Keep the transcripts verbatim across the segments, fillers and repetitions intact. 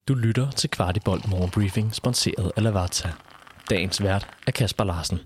Du lytter til Kvartibolt Morgenbriefing, sponsoreret af Lavazza. Dagens vært er Kasper Larsen.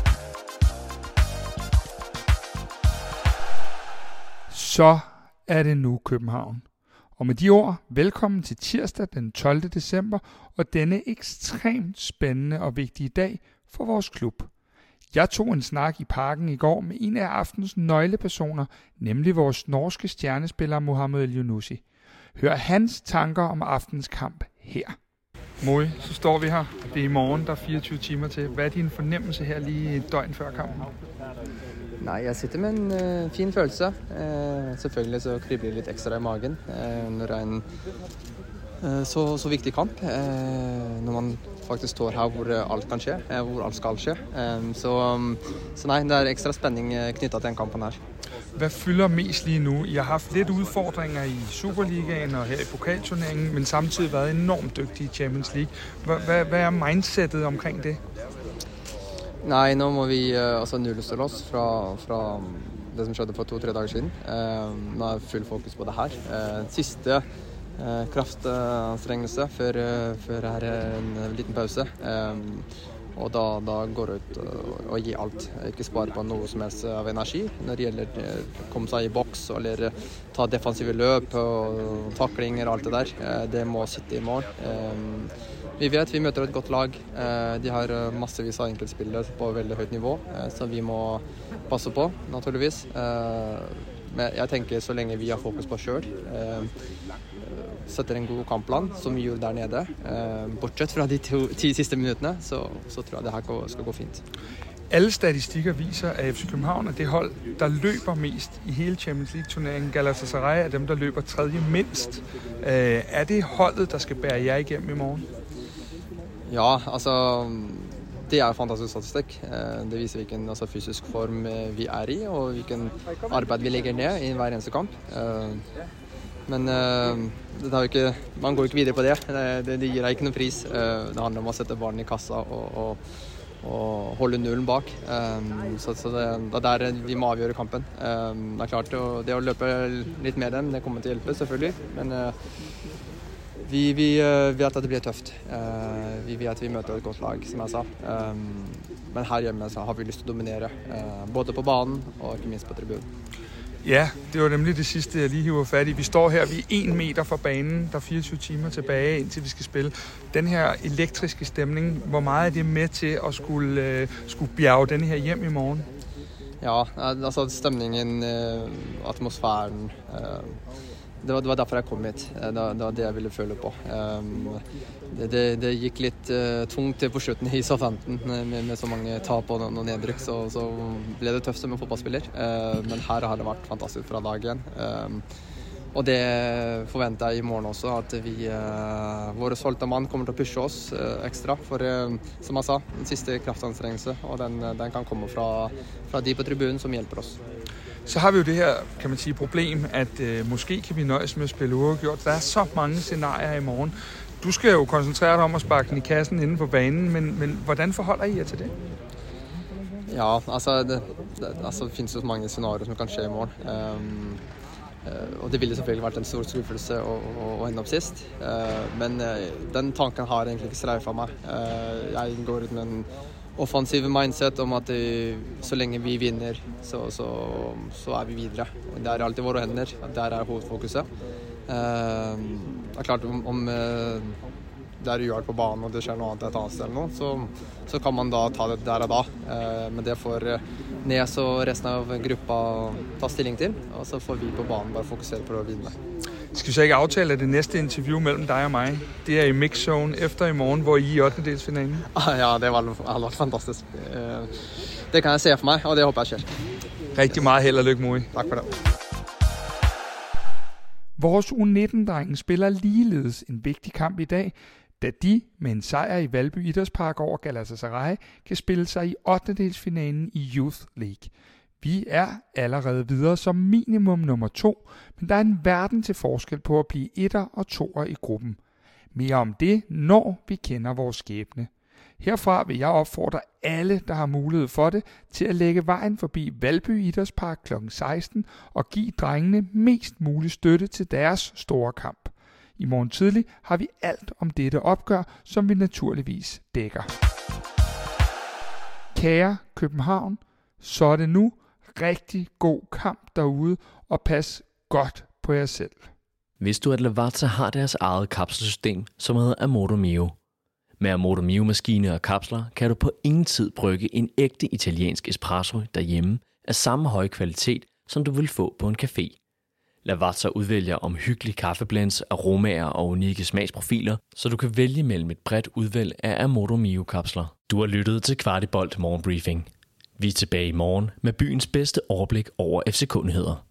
Så er det nu København. Og med de ord, velkommen til tirsdag den tolvte december og denne ekstremt spændende og vigtige dag for vores klub. Jeg tog en snak i parken i går med en af aftens nøglepersoner, nemlig vores norske stjernespiller Mohamed El-Younousi. Hør hans tanker om aftens kamp her. Moi, så står vi her. Det er i morgen, der er fireogtyve timer til. Hvad er din fornemmelse her lige et døgn før kampen? Nej, jeg sitter med en uh, fin følelse. Uh, selvfølgelig så kribler lidt ekstra i magen uh, når det er en uh, så, så vigtig kamp. Uh, når man faktisk står her, hvor alt kan skje, uh, hvor alt skal skje. Uh, så, um, så nej, det er ekstra spænding uh, knyttet til den kampen her. Hvad fylder mest lige nu? I har haft lidt udfordringer i Superligaen og her i pokalturneringen, men samtidig været enormt dygtige i Champions League. Hvad, hvad er mindsetet omkring det? Nej, nå må vi uh, altså nullstille oss fra, fra det som skjedde for to-tre dager siden. Uh, nå er full fokus på det her. Uh, sidste uh, kraftanstrengelse før, uh, før her en liten pause. Uh, og da, da går det ut uh, og gi alt. Ikke spare på noe som helst av energi når det gjelder å uh, komme seg i boks eller uh, ta defensive løp og uh, taklinger og alt det der. Uh, det må sitte i mål. Uh, Vi vet vi møter et godt lag. De har massevis av enkeltspillere på veldig høyt nivå, så vi må passe på, naturligvis. Men jeg tenker så lenge vi har fokus på selv, setter en god kampplan, som vi gjorde der nede, bortsett fra de to, ti siste minuttene, så, så tror jeg det her skal gå fint. Alle statistikker viser, at F C København er det hold, der løber mest i hele Champions League-turneringen. Galatasaray er dem, der løber tredje mindst. Er det holdet, der skal bære jer igennem i morgen? Ja, altså det er fantastisk statistikk. Det viser hvilken altså, fysisk form vi er i, og hvilken arbeid vi legger ned i hver eneste kamp. Men det er jo ikke, man går ikke videre på det. Det, det gir deg ikke noen pris. Det handler om å sette barn i kassa og, og, og holde nullen bak. Så, så det, det er der vi må avgjøre kampen. Det er klart, det å løpe litt med dem, det kommer til å hjelpe selvfølgelig. Men Vi, vi vet at det blir tøft. Uh, vi vet at vi møter et godt lag, som jeg sa. Um, men her hjemme så har vi lyst til å dominere, uh, både på banen og ikke minst på tribunen. Ja, det var nemlig det sidste, jeg lige hiver fat i. Vi står her, vi er en meter fra banen. Der er fireogtyve timer tilbage, indtil vi skal spille. Den her elektriske stemning, hvor meget er det med til at skulle, uh, skulle bjerge den her hjem i morgen? Ja, altså stemningen, uh, atmosfæren... Uh, Det var, det var derfor jeg kom hit. Det var, det var det jeg ville føle på. Um, det, det, det gikk litt uh, tungt på slutten i Southampton med, med så mange tap og noen nedrykk, så, så ble det tøft som en fotballspiller. Uh, men her har det vært fantastisk fra dag igjen. Um, og det forventer jeg i morgen også, at vi, uh, våre solgte mann kommer til å pushe oss uh, ekstra. For uh, som jeg sa, den siste kraftanstrengelse, og den, den kan komme fra, fra de på tribunen som hjelper oss. Så har vi jo det her, kan man sige, problem, at øh, måske kan vi nøjes med at spille uafgjort. Der er så mange scenarier i morgen. Du skal jo koncentrere dig om at sparke den i kassen inde på banen, men, men hvordan forholder I jer til det? Ja, altså det, det altså, finnes jo mange scenarier som kan skje i morgen. Um, uh, og det ville selvfølgelig vært en stor skuffelse å, å, å ende opp sist. Uh, men uh, den tanken har egentlig ikke streifet meg. Uh, jeg går ut med en offensiv mindset om at det, så lenge vi vinner, så, så, så er vi videre. Det er alltid våre hender, der er hovedfokuset. Uh, det er klart, om, om uh, det er uavgjort på banen og det skjer noe annet et annet sted eller noe, så, så kan man da ta det der og da. Uh, men det får Nes og resten av gruppa ta stilling til, og så får vi på banen bare fokusere på å vinne. Skal vi så ikke aftale, at det næste interview mellem dig og mig, det er i Mix Zone efter i morgen, hvor I er i ottendedelsfinalen? Ja, det var, har vært fantastisk. Det kan jeg se for meg, og det håper jeg skjer. Rigtig meget held og lykke, Moi. Tak for det. Vores U nitten-drengen spiller ligeledes en vigtig kamp i dag, da de med en sejr i Valby Idrætspark over Galatasaray kan spille sig i ottendedelsfinalen i Youth League. Vi er allerede videre som minimum nummer to, men der er en verden til forskel på at blive etter og toer i gruppen. Mere om det, når vi kender vores skæbne. Herfra vil jeg opfordre alle, der har mulighed for det, til at lægge vejen forbi Valby Idrætspark klokken seksten og give drengene mest mulig støtte til deres store kamp. I morgen tidlig har vi alt om dette opgør, som vi naturligvis dækker. Kære København, så er det nu rigtig god kamp derude, og pas godt på jer selv. Vidste du, at Lavazza har deres eget kapselsystem, som hedder Amoro Mio? Med Amoro Mio-maskiner og kapsler kan du på ingen tid brygge en ægte italiensk espresso derhjemme af samme høje kvalitet, som du vil få på en café. Lavazza udvælger omhyggelige kaffeblends, aromaer og unikke smagsprofiler, så du kan vælge mellem et bredt udvalg af Amoro Mio-kapsler. Du har lyttet til Kvartibolt Morgenbriefing. Vi er tilbage i morgen med byens bedste overblik over F C K-nyheder.